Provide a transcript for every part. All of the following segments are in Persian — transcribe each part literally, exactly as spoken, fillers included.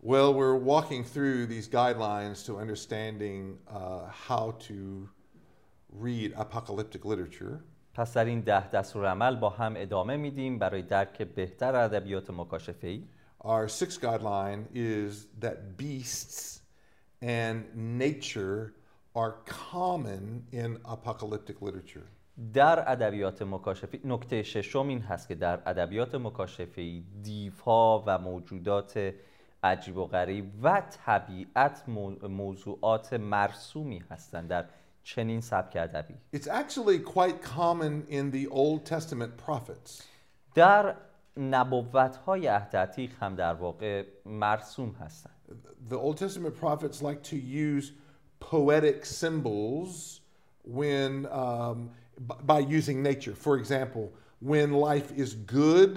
Well, we're walking through these guidelines to understanding uh, how to read apocalyptic literature. پس در این ده دستورالعمل با هم ادامه میدیم برای درک بهتر ادبیات مکاشفه‌ای. Our sixth guideline is that beasts and nature are common in apocalyptic literature. در ادبیات مکاشفه‌ای نکته ششم این هست که در ادبیات مکاشفه‌ای دیوها و موجودات عجیب و غریب و طبیعت موضوعات مرسومی هستند در چنین سبک ادبی. It's actually quite common in the Old Testament prophets. در نبوت‌های عهد عتیق هم در واقع مرسوم هستند. The Old Testament prophets like to use poetic symbols when um, by using nature. For example, when life is good,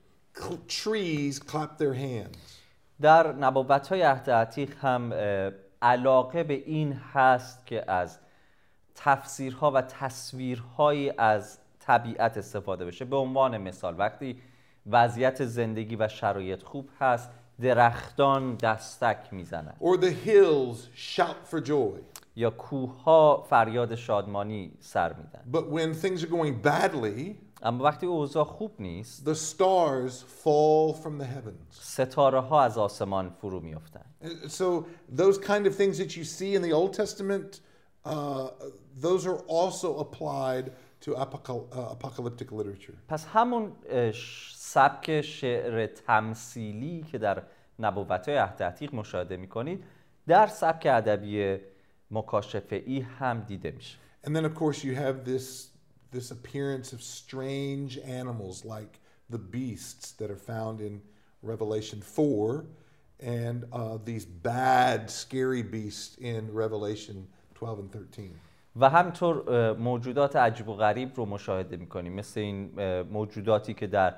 trees clap their hands. در نبوت‌های عهد عتیق هم علاقه به این هست که از تفسیرها و تصویرهایی از طبیعت استفاده بشه. به عنوان مثال وقتی وضعیت زندگی و شرایط خوب هست درختان دستک میزنن. Or the hills shout for joy. یا کوه‌ها فریاد شادمانی سر میدن. But when things are going badly, اما وقتی اوضاع خوب نیست the stars fall from the heavens. ستاره ها از آسمان فرو میافتند. So those kind of things that you see in the Old Testament, uh, those are also applied to apocalyptic literature. پس همون سبک شعر تمثیلی که در نبوت‌های عهد عتیق مشاهده می‌کنید در سبک ادبی مکاشفه‌ای هم دیده میشه. And then of course you have this this appearance of strange animals like the beasts that are found in Revelation four and uh, these bad scary beasts in Revelation twelve and thirteen. و همطور موجودات عجیب و غریب رو مشاهده می‌کنیم مثل این موجوداتی که در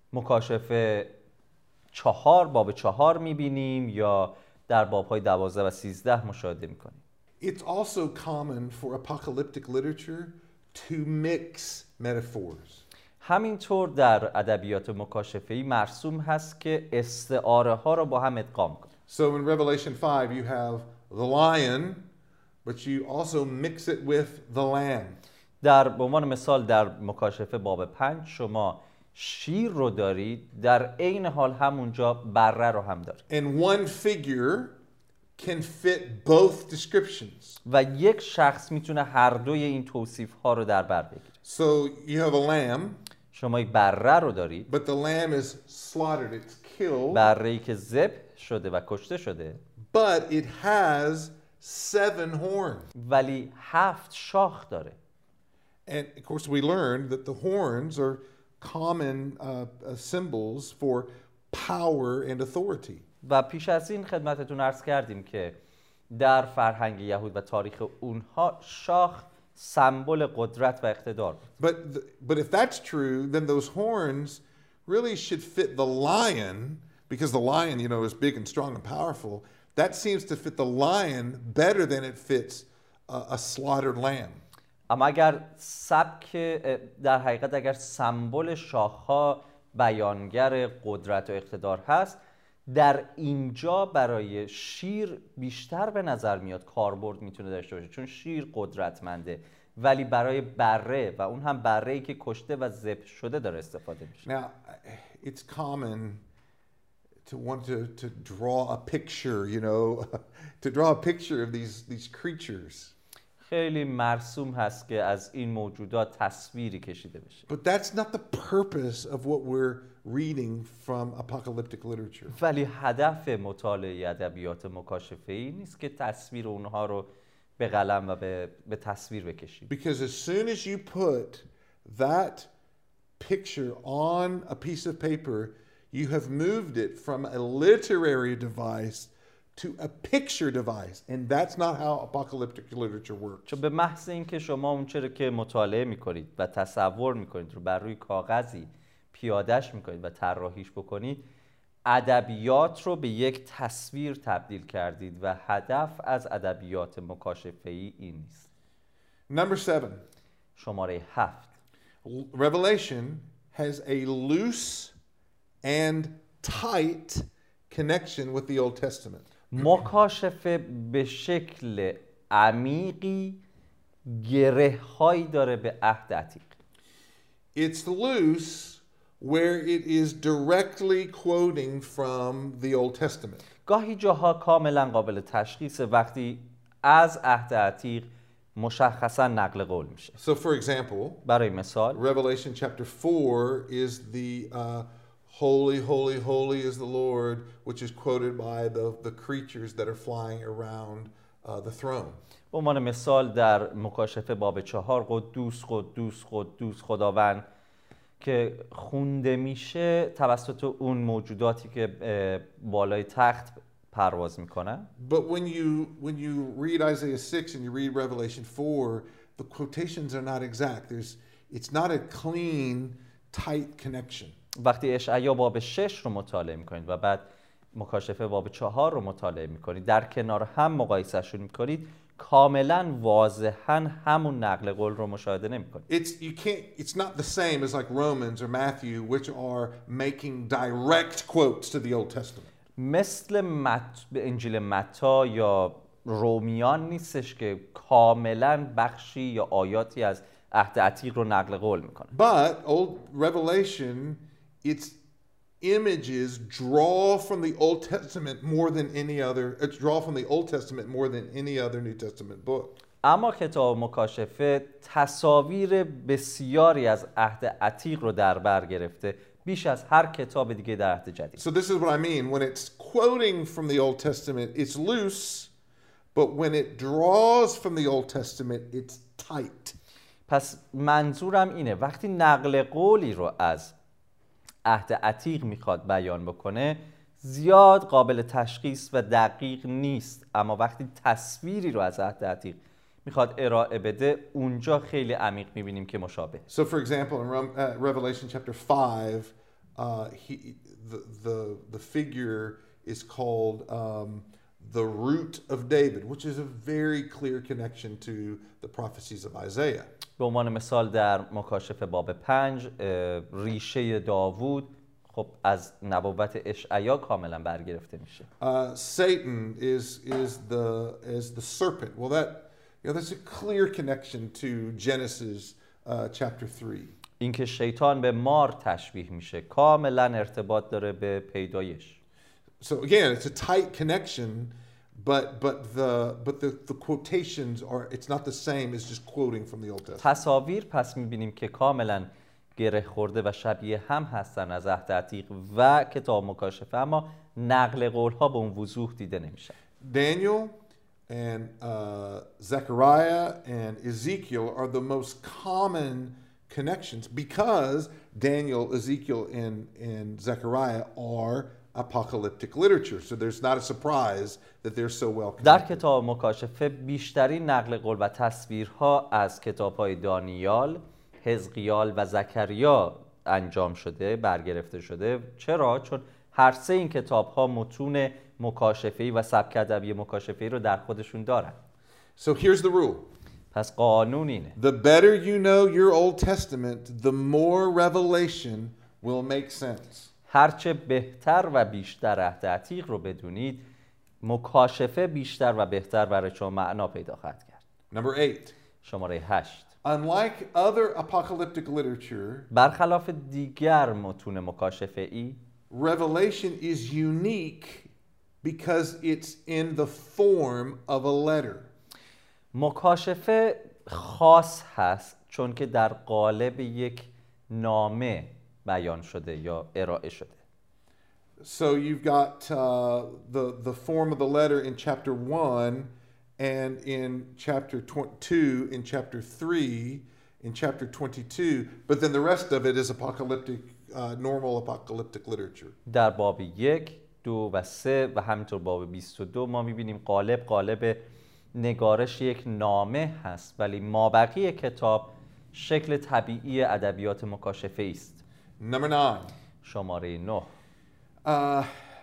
مکاشفه چهار باب چهار می‌بینیم یا در باب‌های دوازده و سیزده مشاهده می‌کنیم. It's also common for apocalyptic literature to mix metaphors. همینطور در ادبیات مکاشفه‌ای مرسوم هست که استعاره ها رو با هم ادغام کنه. So in Revelation five you have the lion, but you also mix it with the lamb. در به عنوان مثال در مکاشفه باب پنج شما شیر رو دارید در عین حال همونجا بره رو هم دارید. And one figure can fit both descriptions. و یک شخص میتونه هر دوی این توصیف ها رو در بر بگیره. So you have a lamb. شما یک بره رو دارید. But the lamb is slaughtered, it's killed. بره‌ای که ذبح شده و کشته شده. But it has seven horns. ولی هفت شاخ داره. And of course we learned that the horns are common uh, symbols for power and authority. و پیش از این خدمتتون عرض کردیم که در فرهنگ یهود و تاریخ اونها شاخ سمبل قدرت و اقتدار بود. But the, but if that's true, then those horns really should fit the lion, because the lion, you know, is big and strong and powerful. That seems to fit the lion better than it fits a, a slaughtered lamb. اما اگر سبک در حقیقت اگر سمبل شاخ‌ها بیانگر قدرت و اقتدار هست در اینجا برای شیر بیشتر به نظر میاد کاربرد میتونه داشته باشه چون شیر قدرتمنده ولی برای بره و اون هم بره‌ای که کشته و ذبح شده داره استفاده میشه. Now it's common to want to to draw a picture, you know, to draw a picture of these these creatures. خیلی مرسوم هست که از این موجودات تصویری کشیده بشه. But that's not the purpose of what we're reading from apocalyptic literature. ولی هدف مطالعه ادبیات مکاشفه‌ای نیست که تصویر اونها رو به قلم و به, به تصویر بکشید. Because as soon as you put that picture on a piece of paper, you have moved it from a literary device to a picture device, and that's not how apocalyptic literature works. چون به محض اینکه شما اون چیزی که مطالعه میکنید و تصور میکنید رو بر روی کاغذی پیادهش میکنید و طراحیش بکنید ادبیات رو به یک تصویر تبدیل کردید و هدف از ادبیات مکاشفه‌ای این نیست. Number seven. شماره هفت. Revelation has a loose and tight connection with the Old Testament. مکاشفه به شکل عمیقی گره هایی داره به عهد عتیق. It's loose where it is directly quoting from the Old Testament. گاهی جاها کاملا قابل تشخیص وقتی از عهد عتیق مشخصا نقل قول میشه. So for example, برای مثال Revelation chapter four is the uh, holy, holy, holy is the Lord, which is quoted by the, the creatures that are flying around uh, the throne. به عنوان مثال در مکاشفه باب چهار قدوس قدوس قدوس خداوند که خونده میشه توسط اون موجوداتی که بالای تخت پرواز میکنن. But when you when you read Isaiah six and you read Revelation four, the quotations are not exact. There's it's not a clean, tight connection. وقتی اشعیا باب شش رو مطالعه میکنید و بعد مکاشفه باب چهار رو مطالعه میکنید در کنار هم مقایسهشون میکنید کاملا واضحا همون نقل قول رو مشاهده نمیکنید. It's you can't it's not the same as like Romans or Matthew, which are making direct quotes to the Old Testament. مثل مت... به انجیل متی یا رومیان نیستش که کاملا بخشی یا آیاتی از عهد عتیق رو نقل قول میکنه. But old Revelation, its images draw from the Old Testament more than any other. It's draw from the Old Testament more than any other New Testament book. اما کتاب مکاشفه تصاویر بسیاری از عهد عتیق رو در بر گرفته بیش از هر کتاب دیگه در عهد جدید. So this is what I mean when it's quoting from the Old Testament, it's loose, but when it draws from the Old Testament, it's tight. پس منظورم اینه وقتی نقل قولی رو از عهد عتیق میخواد بیان بکنه زیاد قابل تشخیص و دقیق نیست، اما وقتی تصویری رو از عهد عتیق میخواد ارائه بده اونجا خیلی عمیق میبینیم که مشابه. So for example in uh, Revelation chapter five, uh, he, the, the, the figure is called um, the root of David, which is a very clear connection to the prophecies of Isaiah. به عنوان مثال در مکاشفه باب پنج ریشه داوود خب از نبوت اشعیا کاملا برگرفته میشه. Uh, Satan is is the is the serpent. Well, that you know that's a clear connection to Genesis uh, chapter three. اینکه شیطان به مار تشبیه میشه کاملا ارتباط داره به پیدایش. So again, it's a tight connection, but but the but the the quotations are it's not the same as just quoting from the Old Testament. تصاویر پس میبینیم که کاملا گره خورده و شبیه هم هستن از عهد عتیق و کتاب مکاشفه، اما نقل قول ها به اون وضوح دیده نمیشه. Daniel and uh, Zechariah and Ezekiel are the most common connections because Daniel, Ezekiel, and and Zechariah are apocalyptic literature. So there's not a surprise that they're so well connected. در کتاب مکاشفه بیشترین نقل قول و تصویرها از کتاب‌های دانیال، حزقیال و زکریا انجام شده، برگرفته شده. چرا؟ چون هر سه این کتاب‌ها متون مکاشفه‌ای و سبک ادبی مکاشفه‌ای رو در خودشون دارن. So here's the rule. پس قانون اینه. The better you know your Old Testament, the more revelation will make sense. هرچه بهتر و بیشتر عهد عتیق رو بدونید، مکاشفه بیشتر و بهتر برای شما معنا پیدا خواهد کرد. Number eight. شماره هشت. Unlike other apocalyptic literature, برخلاف دیگر متون مکاشفه‌ای، Revelation is unique because it's in the form of a letter. مکاشفه خاص هست چون که در قالب یک نامه بیان شده یا ارائه شده. So you've got uh, the the form of the letter in chapter one, and in chapter two, in chapter three, in chapter twenty-two, but then the rest of it is apocalyptic, uh, normal apocalyptic literature. در باب یک، دو و سه و همینطور باب بیست و دو ما میبینیم قالب قالب نگارش یک نامه هست، ولی مابقی کتاب شکل طبیعی ادبیات مکاشفه است. Number nine. شماره نه. Uh,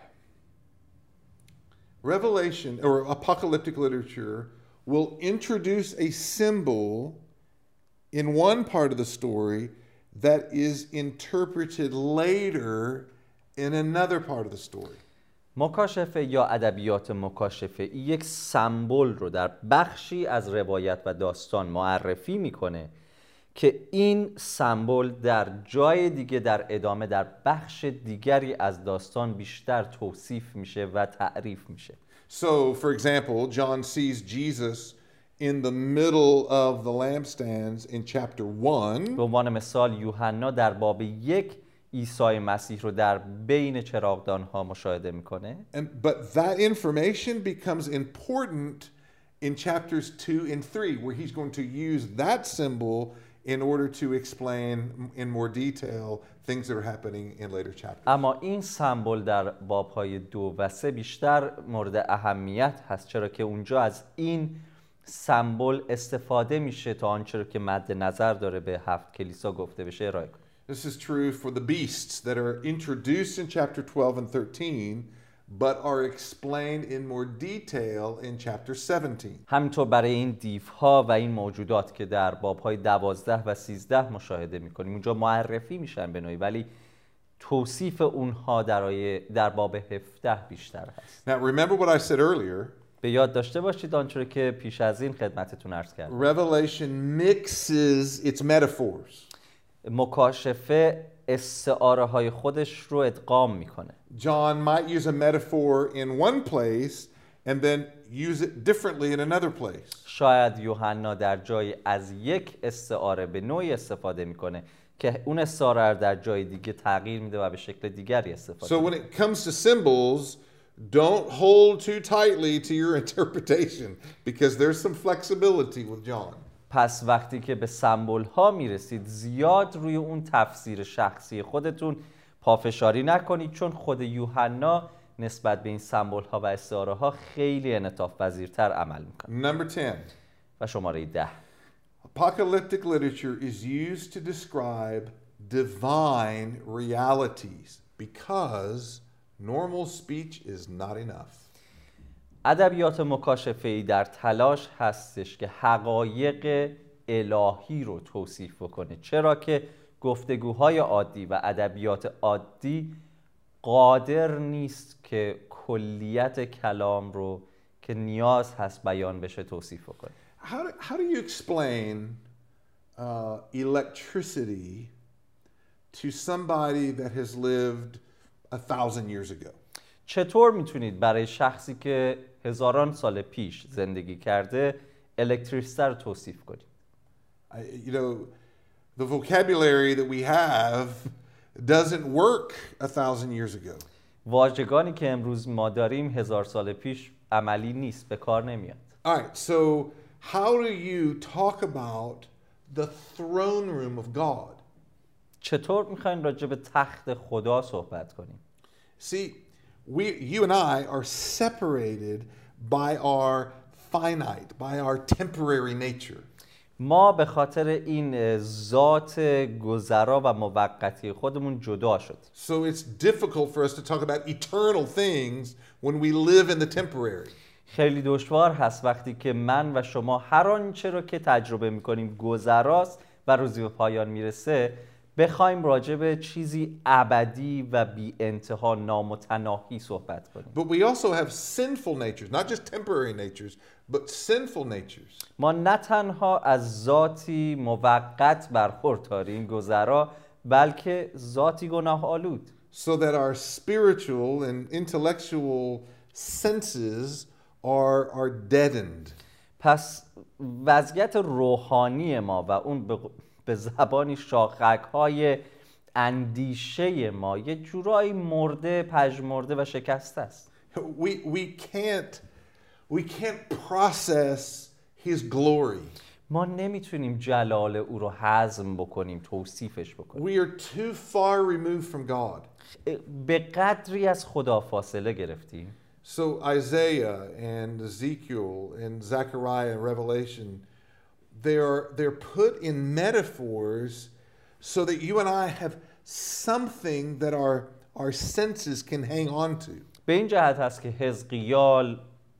Revelation or apocalyptic literature will introduce a symbol in one part of the story that is interpreted later in another part of the story. مکاشفه یا ادبیات مکاشفه یک سمبل رو در بخشی از روایت و داستان معرفی میکنه که این سمبل در جای دیگه در ادامه در بخش دیگری از داستان بیشتر توصیف میشه و تعریف میشه. So, for example, John sees Jesus in the middle of the lampstands in chapter one. به عنوان مثال یوحنا در باب یک عیسی مسیح رو در بین چراغدان‌ها مشاهده میکنه. And but that information becomes important in chapters two and three, where he's going to use that symbol in order to explain in more detail things that are happening in later chapters. اما این سمبل در باب‌های دو و سه بیشتر مورد اهمیت هست، چرا که اونجا از این سمبل استفاده میشه تا آنچه که مد نظر داره به هفت کلیسا گفته بشه ارائه کنه. This is true for the beasts that are introduced in chapter twelve and thirteen, but are explained in more detail in chapter seventeen. همینطور برای این دیوها و این موجودات که در باب‌های دوازده و سیزده مشاهده می‌کنیم، اونجا معرفی میشن به نوعی، ولی توصیف اونها در در باب هفده بیشتر هست. Now remember what I said earlier. به یاد داشته باشید آنچه که پیش از این خدمتتون عرض کردم. Revelation mixes its metaphors. مکاشفه استعاره های خودش رو ادغام میکنه. John might use a metaphor in one place and then use it differently in another place. شاید یوحنا در جای از یک استعاره به نوعی استفاده میکنه که اون استعاره رو در جای دیگه تغییر میده و به شکل دیگری استفاده So میکنه. when it comes to symbols, don't hold too tightly to your interpretation because there's some flexibility with John. پس وقتی که به سمبل ها میرسید زیاد روی اون تفسیر شخصی خودتون پافشاری نکنید، چون خود یوحنا نسبت به این سمبل ها و استعاره ها خیلی انعطاف پذیرتر عمل میکنه. Number ten. و شماره ده. Apocalyptic literature is used to describe divine realities because normal speech is not enough. ادبیات مکاشفه‌ای در تلاش هستش که حقایق الهی رو توصیف بکنه، چرا که گفتگوهای عادی و ادبیات عادی قادر نیست که کلیت کلام رو که نیاز هست بیان بشه توصیف بکنه. How do, how do you explain uh, electricity to somebody that has lived a thousand years ago? چطور میتونید برای شخصی که هزاران سال پیش زندگی کرده الکتریسیته رو توصیف کنید؟ I, you know, the vocabulary that we have doesn't work a thousand years ago. واژگانی که امروز ما داریم هزار سال پیش عملی نیست، به کار نمیاد. All right, so how do you talk about the throne room of God? چطور میخواین راجع به تخت خدا صحبت کنیم؟ See, we, you and I are separated by our finite, by our temporary nature. ما به خاطر این ذات گذرا و موقتی خودمون جدا شد. So it's difficult for us to talk about eternal things when we live in the temporary. خیلی دشوار هست وقتی که من و شما هر آنچه رو که تجربه میکنیم گذراست و روزی به پایان میرسه بخوایم راجع به چیزی ابدی و بی انتها نامتناهی صحبت کنیم. But we also have sinful natures, not just temporary natures, but sinful natures. ما نه تنها از ذاتی موقت برخورداریم گذرا، بلکه ذاتی گناه آلود. So that our spiritual and intellectual senses are, are deadened. پس وضعیت روحانی ما و اون به به زبانی شاخک‌های اندیشه ما یه جورایی مرده، پژمرده و شکسته است. We, we can't, we can't process his glory. ما نمیتونیم جلال او رو هضم بکنیم، توصیفش بکنیم. We are too far removed from God. به قدری از خدا فاصله گرفتیم. So Isaiah and Ezekiel and Zechariah and Revelation, they are they're put in metaphors so that you and I have something that our our senses can hang on to. به این جهت هست که حزقیال،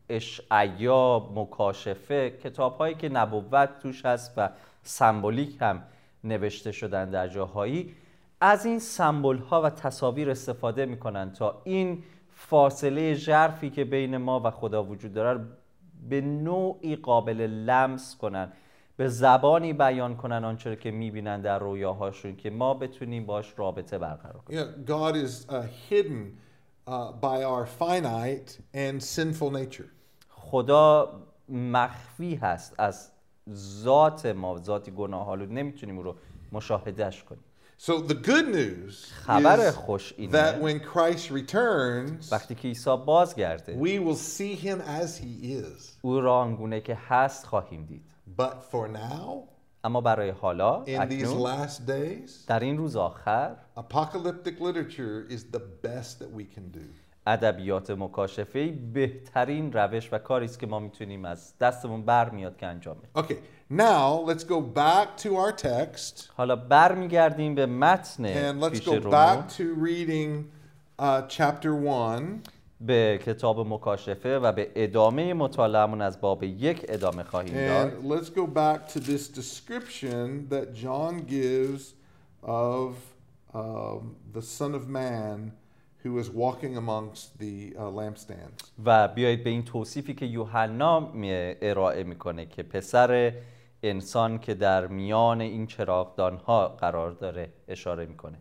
اشعیا، مکاشفه، کتاب‌هایی که نبوت توش هست و سمبولیک هم نوشته شدن در جاهایی، از این سمبول‌ها و تصاویر استفاده می‌کنن تا این فاصله ژرفی که بین ما و خدا وجود داره به نوعی قابل لمس کنن، به زبانی بیان کنن آنچه که میبینن در رویاهاشون که ما بتونیم باش رابطه برقرار کنیم. Yeah, God is uh, hidden uh, by our finite and sinful nature. خدا مخفی هست از ذات ما، ذاتی گناه‌آلود، نمیتونیم او رو مشاهدهش کنیم. So the good news خبر is خوش that اینه when Christ returns, وقتی که عیسی بازگرده we will see him as he is. او را آنگونه که هست خواهیم دید. But for now, اما برای حالا in these اکنون last days, در این روز آخر apocalyptic literature is the best that we can do. ادبیات مکاشفه‌ای بهترین روش و کاری است که ما میتونیم از دستمون برمیاد که انجام بدیم. Okay, now let's go back to our text حالا برمیگردیم به متن and let's پیش go رومون، back to reading uh, chapter one. به کتاب مکاشفه و به ادامه مطالعه‌مون از باب یک ادامه خواهیم داد. And let's go back to this description that John gives of um, the Son of Man who is walking amongst the uh, lampstands. و بیایید به این توصیفی که یوحنا می- ارائه میکنه که پسر انسان که در میان این چراغدان‌ها قرار داره اشاره میکنه.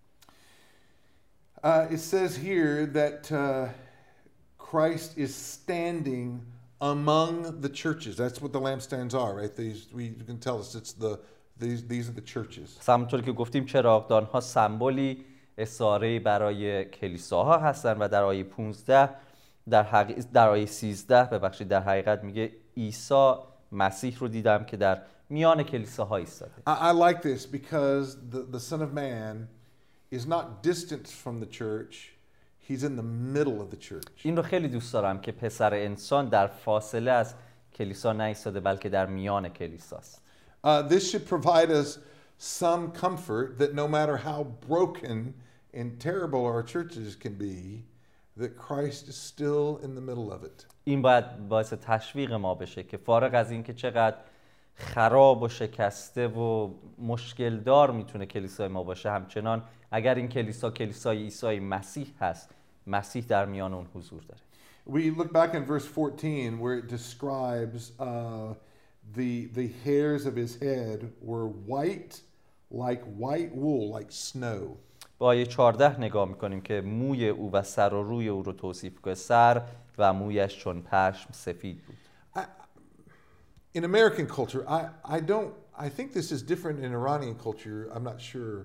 Uh, it says here that uh, Christ is standing among the churches. That's what the lampstands are, right? These we you can tell us it's the these these are the churches. پس همونطور که گفتیم چراغدان‌ها سمبولی استعاره برای کلیساها هستن و در آیه پانزده در حقیقت در آیه سیزده ببخشید در حقیقت میگه عیسی مسیح رو دیدم که در میان کلیساها ایستاده. I, I like this because the, the Son of Man is not distant from the church. He's in the middle of the church. این رو خیلی دوست دارم که پسر انسان در فاصله از کلیسا نایستاده بلکه در میان کلیساست. Uh, this should provide us some comfort that no matter how broken and terrible our churches can be, that Christ is still in the middle of it. این باید باعث تشویق ما بشه که فارغ از این که چقدر خراب و شکسته و مشکل دار میتونه کلیسای ما باشه، همچنان اگر این کلیسا کلیسای عیسی مسیح هست، مسیح در میان اون حضور داره. We look back in verse fourteen where it describes uh, the the hairs of his head were white like white wool, like snow. با آیه چهارده نگاه میکنیم که موی او و سر و روی او رو توصیف کنه. سر و مویش چون پشم سفید بود. I, in American culture, I, I don't, I think this is different in Iranian culture, I'm not sure.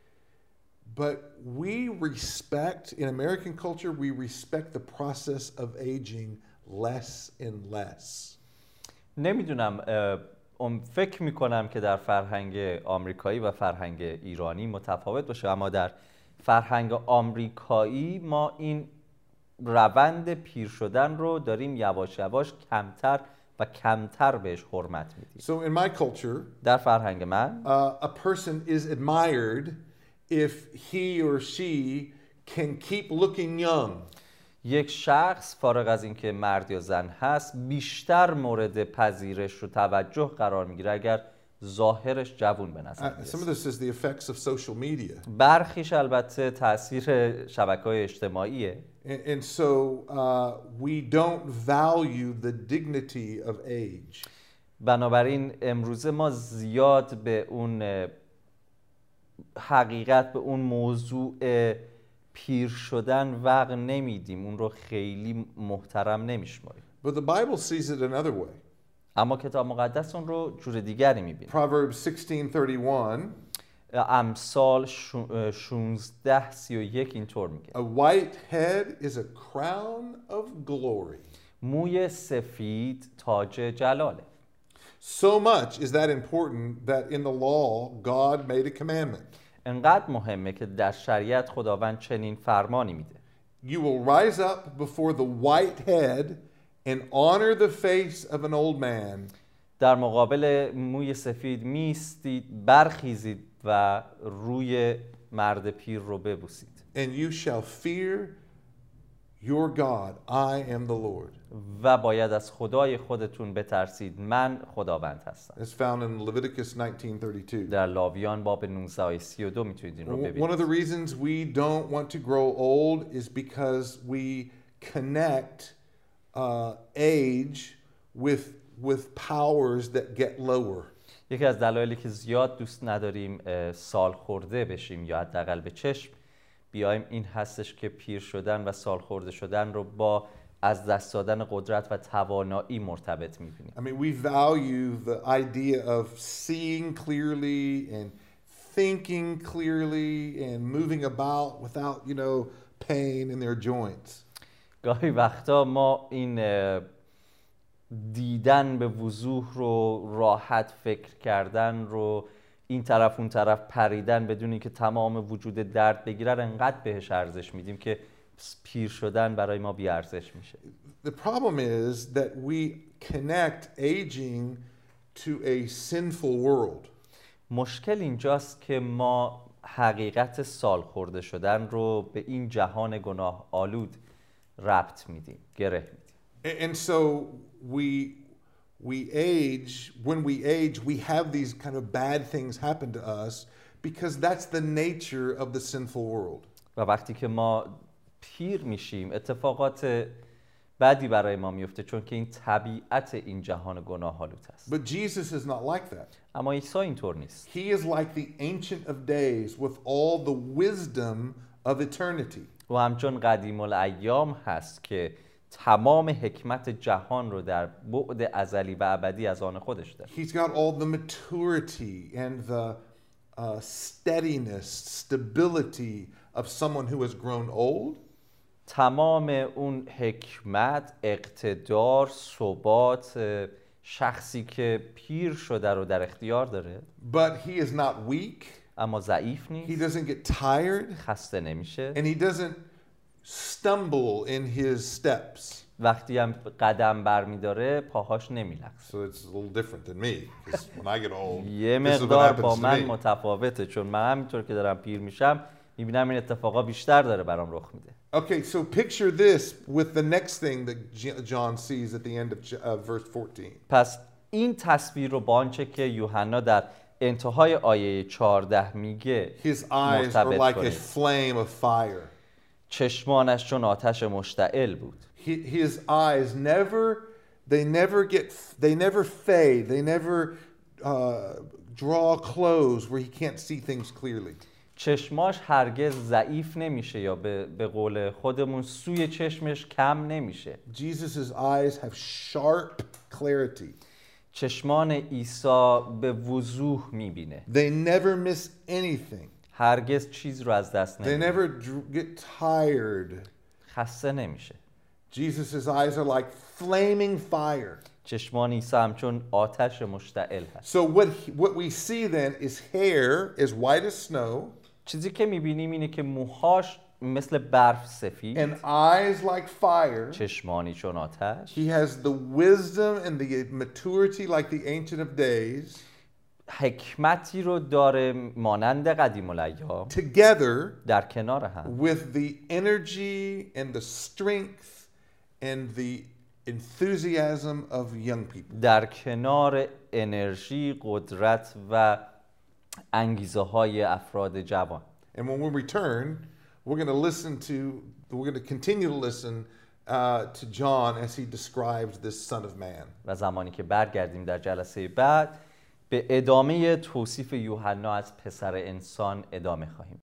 But we respect, in American culture, we respect the process of aging less and less. نمیدونم، فکر میکنم که در فرهنگ آمریکایی و فرهنگ ایرانی متفاوت باشه، اما در فرهنگ آمریکایی ما این روند پیر شدن رو داریم یواش یواش کمتر و کمتر بهش حرمت میدیم. So in my culture, در فرهنگ من uh, a person is admired if he or she can keep looking young. یک شخص فارغ از اینکه مرد یا زن هست بیشتر مورد پذیرش و توجه قرار میگیره اگر ظاهرش جوون به نظر Uh, some of میرسه. this is the effects of social media. برخیش البته تاثیر شبکه‌های اجتماعیه. And, and so uh, we don't value the dignity of age. بنابراین امروزه ما زیاد به اون حقیقت، به اون موضوع پیر شدن وقت نمیدیم، اون رو خیلی محترم نمیشماریم. But the Bible sees it another way. اما کتاب مقدس اون رو جور دیگری میبینه. Proverbs sixteen thirty-one. امثال شانزده سی و یک اینطور میگه. A white head is a crown of glory. موی سفید تاج جلاله. So much is that important that in the law God made a commandment. انقدر مهمه که در شریعت خداوند چنین فرمانی میده. You will rise up before the white head and honor the face of an old man. در مقابل موی سفید میستید، برخیزید و روی مرد پیر رو ببوسید. And you shall fear your God, I am the Lord. و باید از خدای خودتون بترسید، من خداوند هستم. It's found in Leviticus nineteen thirty-two. در لاویان باب نوزده آیه سی و دو میتونید این رو One of ببینید. the reasons we don't want to grow old is because we connect uh, age with with powers that get lower. یکی از دلایلی که زیاد دوست نداریم اه، سال خورده بشیم یا حداقل به چشم بیایم این هستش که پیر شدن و سال خورده شدن رو با از دست دادن قدرت و توانایی مرتبط می‌بینیم. I mean, we value the idea of seeing clearly and thinking clearly and moving about without, you know, pain in their joints. گاهی وقتا ما این اه، دیدن به وضوح رو، راحت فکر کردن رو، این طرف اون طرف پریدن بدون اینکه تمام وجود درد بگیرن انقدر بهش ارزش میدیم که پیر شدن برای ما بی ارزش میشه. The problem is that we connect aging to a sinful world. مشکل اینجاست که ما حقیقت سال خورده شدن رو به این جهان گناه آلود ربط میدیم، گره میدیم. And so we we age, when we age, we have these kind of bad things happen to us because that's the nature of the sinful world. و وقتی که ما پیر میشیم اتفاقات بدی برای ما میفته چون که این طبیعت این جهان گناه آلود است. But Jesus is not like that. اما عیسی اینطور نیست. He is like the Ancient of Days with all the wisdom of eternity. و همچون قدیم الایام هست که تمام حکمت جهان رو در بعد ازلی و ابدی از آن خودش داره. He's got all the maturity and the uh, steadiness, stability of someone who has grown old. تمام اون حکمت، اقتدار، ثبات شخصی که پیر شده رو در اختیار داره. But he is not weak. اما ضعیف He نیست. doesn't get tired. خسته نمیشه. And he doesn't stumble in his steps. وقتی هم قدم برمیداره پاهاش نمیلغزه. So it's a little different than me. Because when I get old, یه this is what مقدار happens با to من me. متفاوته چون من همینطور که دارم پیر میشم میبینم این اتفاقا بیشتر داره برام رخ میده. Okay, so picture this with the next thing that J- John sees at the end of J- uh, verse fourteen. پس این تصویر رو با آنچه که یوحنا در انتهای آیه چهارده میگه His eyes are مرتبط like a کنید. flame of fire. چشمانش چون آتش مشتعل بود. He- His eyes never, they never get, they never fade. They never uh, draw close where he can't see things clearly. چشماش هرگز ضعیف نمیشه یا به, به قول خودمون سوی چشمش کم نمیشه. Jesus' eyes have sharp clarity. چشمان عیسی به وضوح میبینه. They never miss anything. هرگز چیز رو از دست They نمیده. never dr- get tired. خسته نمیشه. Jesus' eyes are like flaming fire. چشمان عیسی همچون آتش مشتعل هست. So what he- what we see then is hair as white as snow چیزی که میبینیم اینه که موهاش مثل برف سفید، and eyes like fire. چشمانی چون آتش. He has the wisdom and the maturity like the Ancient of Days. حکمتی رو داره مانند قدیم الایام Together در کنار هم with the energy and the strength and the enthusiasm of young people. در کنار انرژی، قدرت و انگیزه های افراد جوان. And when we return, we're going to listen to, we're going to continue to listen uh, to John as he describes this Son of Man. و زمانی که برگردیم در جلسه بعد به ادامه توصیف یوحنا از پسر انسان ادامه خواهیم.